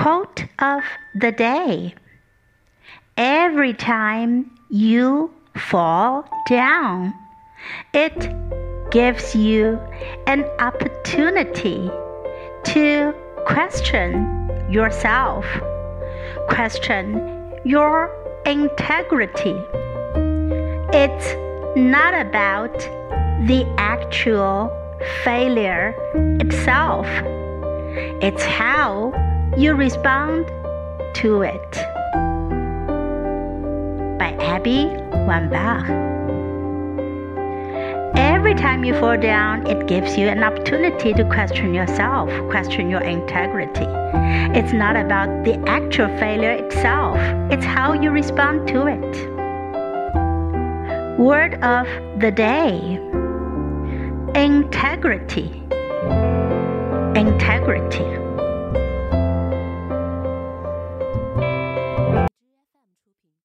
Quote of the day. Every time you fall down, it gives you an opportunity to question yourself, question your integrity. It's not about the actual failure itself. It's how you respond to it. By Abby Wambach. Every time you fall down, it gives you an opportunity to question yourself, question your integrity. It's not about the actual failure itself. It's how you respond to it. Word of the day. Integrity. Integrity.